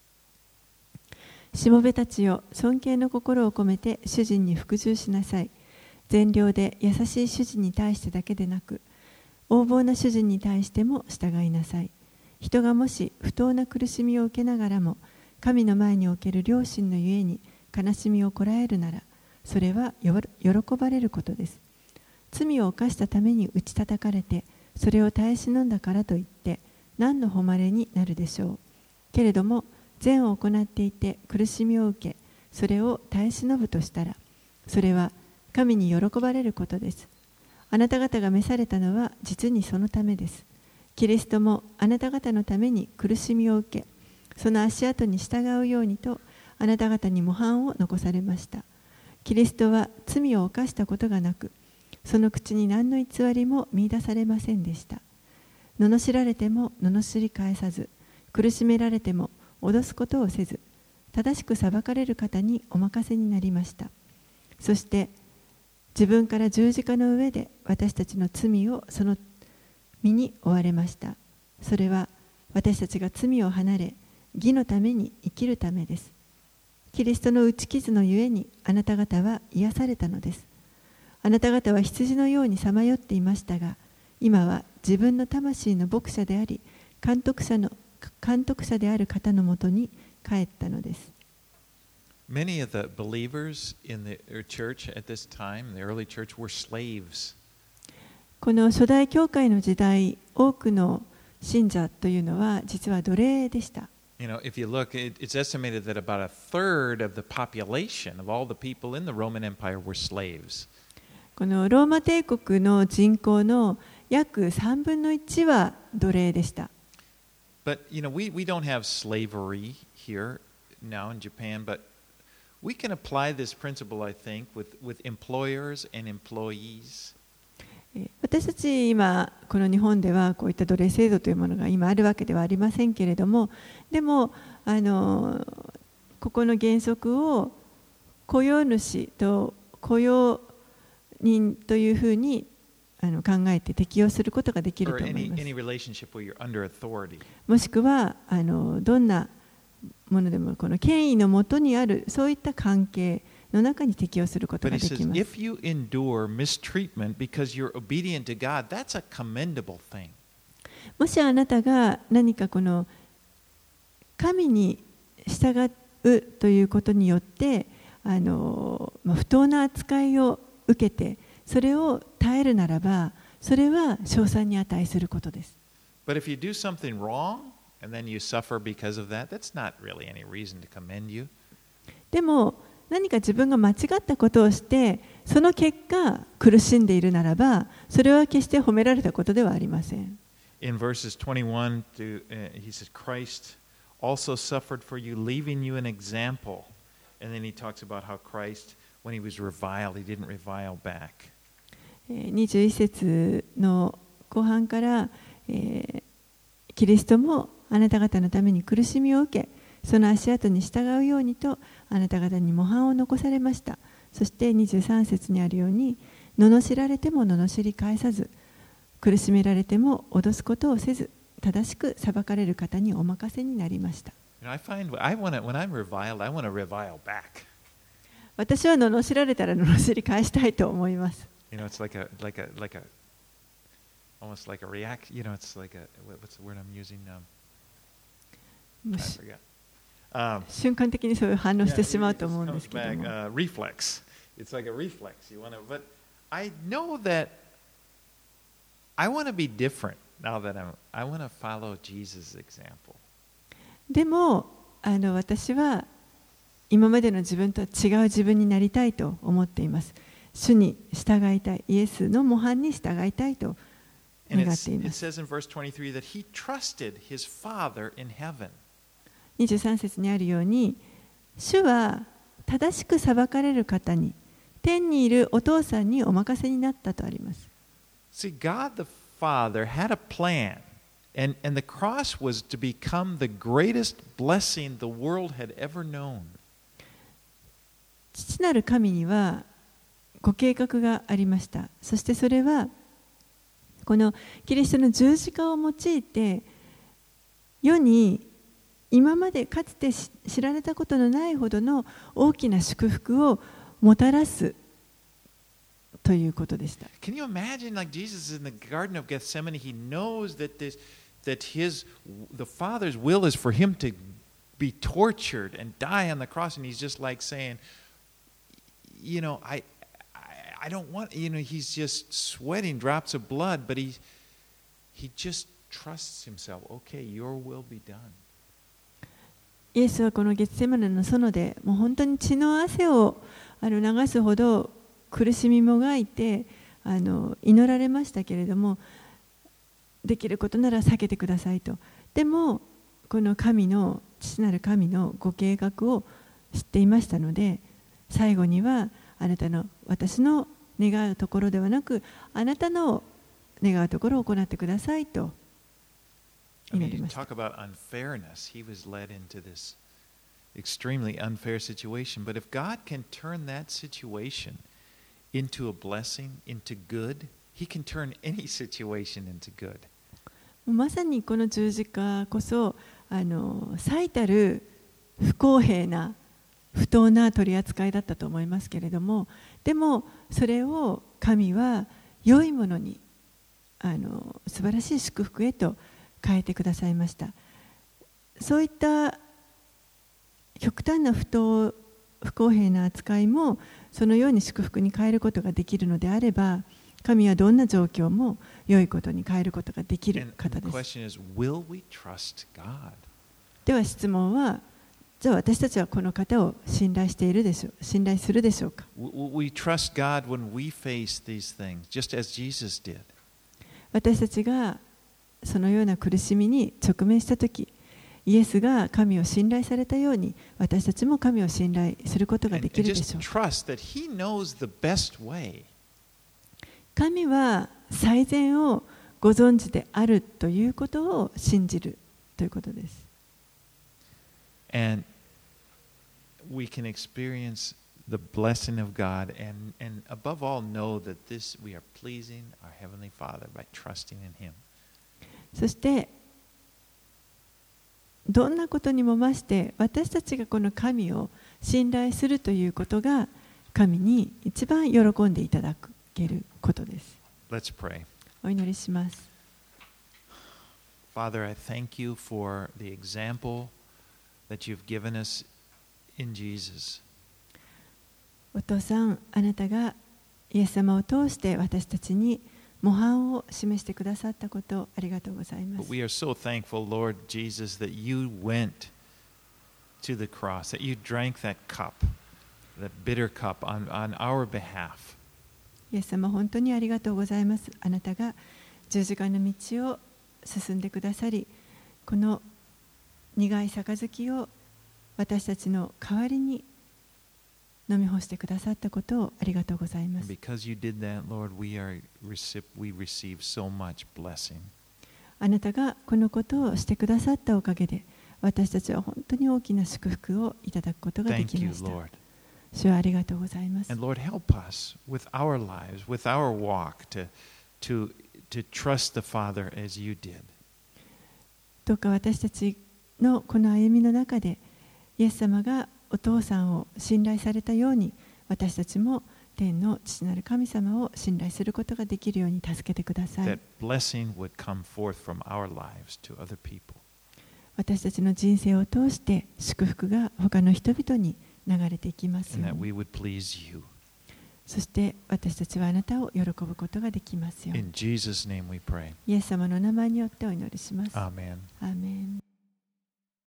S2: しもべたちよ、尊敬の心を込めて主人に服従しなさい。善良で優しい主人に対してだけでなく、横暴な主人に対しても従いなさい。人がもし不当な苦しみを受けながらも、神の前における良心のゆえに悲しみをこらえるなら、それは喜ばれることです。罪を犯したために打ち叩かれて、 それを耐え忍んだからといって何の誉れになるでしょう。けれども善を行っていて苦しみを受け、それを耐え忍ぶとしたら、それは神に喜ばれることです。あなた方が召されたのは実にそのためです。キリストもあなた方のために苦しみを受け、その足跡に従うようにとあなた方に模範を残されました。キリストは罪を犯したことがなく、その口に何の偽りも見出されませんでした。罵られても罵り返さず、苦しめられても脅すことをせず、正しく裁かれる方にお任せになりました。そして自分から十字架の上で私たちの罪をその身に負われました。それは私たちが罪を離れ、義のために生きるためです。キリストの打ち傷のゆえにあなた方は癒されたのです。あなた方は羊のようにさまよっていましたが、今は自分の魂の牧者であり、監督者である方のもとに帰ったのです。
S1: Many of the believers in the church at this time, the early church, were slaves.
S2: この初代教会の時代、多くの信者というのは実は奴隷でした。
S1: You know, if you look, it's estimated that about a third of the population of all the people in the Roman Empire were slaves.
S2: このローマ帝国の人口の約3分の1は奴隷でした。
S1: But you know, we don't have slavery here now in Japan, but we can apply this principle, I think, with employers and employees.
S2: 私たち今この日本ではこういった奴隷制度というものが今あるわけではありませんけれども、でもここの原則を雇用主と雇用人というふうに考えて適用することができると思います。もしくはどんなものでもこの権威のもとにあるそういった関係の中に適用することができます。
S1: If you endure mistreatment because you're obedient to God, that's a commendable thing.
S2: もしあなたが何かこの神に従うということによって不当な扱いを受けてそれを耐えるならば、それは称賛に値することです。
S1: But if you do something wrong and then you suffer because of that, that's not really any reason to commend you.
S2: でも何か自分が間違ったことをしてその結果苦しんでいるならば、それは決して褒められたことではありません。
S1: In verses 21 he says, Christ also suffered for you, leaving you an example. And then he talks about how Christ, when he was reviled, he didn't revile back.
S2: 21節の後半から、キリストもあなた方のために苦しみを受け、その足跡に従うようにとあなた方に模範を残されました。そして23節にあるように、罵られても罵り返さず、苦しめられても脅すことをせず、正しく裁かれる方にお任せになりました。私は罵られたら罵り返したいと思います。
S1: It's almost like a react. It's like what's the word I'm using? I forgot.
S2: 瞬間的にそういう反応してしまうと思うんですけども。
S1: Reflex. It's like a reflex. But I know that I want to be different now that I want to follow Jesus' example.
S2: でも私は今までの自分とは違う自分になりたいと思っています。主に従いたい、イエスの模範に従いたいと願っています。
S1: It says in verse 23 that he trusted his Father in heaven.
S2: 23節にあるように、主は正しく裁かれる方に、天にいるお父さんにお任せになったとあります。
S1: See, God the Father had a plan, and the cross was to become the greatest blessing the world had ever known.
S2: 父なる神にはご計画がありました。そしてそれはこのキリストの十字架を用いて世に今までかつて知られたことのないほどの大きな祝福をもたらすということでした。
S1: Can you imagine, like Jesus in the Garden of Gethsemane, he knows that the Father's will is for him to be tortured and die on the cross, and he's just like saying, I don't want, he's just sweating drops of blood, but he just trusts himself. Okay, your will be done.
S2: イエスはこのゲツセマネの園でもう本当に血の汗を流すほど苦しみもがいて祈られましたけれども、できることなら避けてくださいと。でもこの父なる神のご計画を知っていましたので、最後には私の願うところではなく、あなたの願うところを行ってくださいと祈りました。
S1: Talk about unfairness. He was led into this extremely unfair situation. But if God can turn that situation into a blessing, into good, He can turn any situation into good.
S2: まさにこの十字架こそ最たる不公平な不当な取り扱いだったと思いますけれども、でもそれを神は良いものに素晴らしい祝福へと変えてくださいました。そういった極端な不公平な扱いもそのように祝福に変えることができるのであれば、神はどんな状況も良いことに変えることができる方です。では質問は、じゃあ私たちはこの方を信頼するでしょうか。私たちがそのような苦しみに直面したとき、イエスが神を信頼されたように、私たちも神を信頼することができるでしょう。神は最善をご存知であるということを信じるということです。
S1: And we can experience the blessing of God and above all know that this we are pleasing our Heavenly Father by trusting in Him.
S2: そしてどんなことにも増して私たちがこの神を信頼するということが神に一番喜んでいただけることです。
S1: Let's pray.
S2: お祈りします。
S1: Father, I thank you for the example that you've given us in Jesus.
S2: お父さん、あなたがイエス様を通して私たちに模範を示してくださったことをありがとうございます。
S1: But we are so thankful, Lord Jesus, that you went to the cross, that you drank that cup, that bitter cup on our behalf.
S2: イエス様、本当にありがとうございます。あなたが十字架の道を進んでくださり、この苦い杯を私たちの代わりに飲み干してくださったことをありがとうございます。
S1: Because you did that, Lord, we receive so much blessing.
S2: あなたがこのことをしてくださったおかげで、私たちは本当に大きな祝福をいただくことができました。主はありがとうございます。
S1: And Lord, help us with our lives, with our walk, to trust the Father as you did.
S2: どうか私たちのこの歩みの中で、イエス様がお父さんを信頼されたように、私たちも天の父なる神様を信頼することができるように助けてください。
S1: That blessing would come forth from our lives to other people.
S2: 私たちの人生を通して祝福が他の人々に流れていきますよう
S1: And that
S2: に。
S1: we would please you.
S2: そして私たちはあなたを喜ぶことができますように。
S1: In Jesus' name we pray.
S2: イエス様の名前によってお祈りします。
S1: Amen.
S2: アーメン。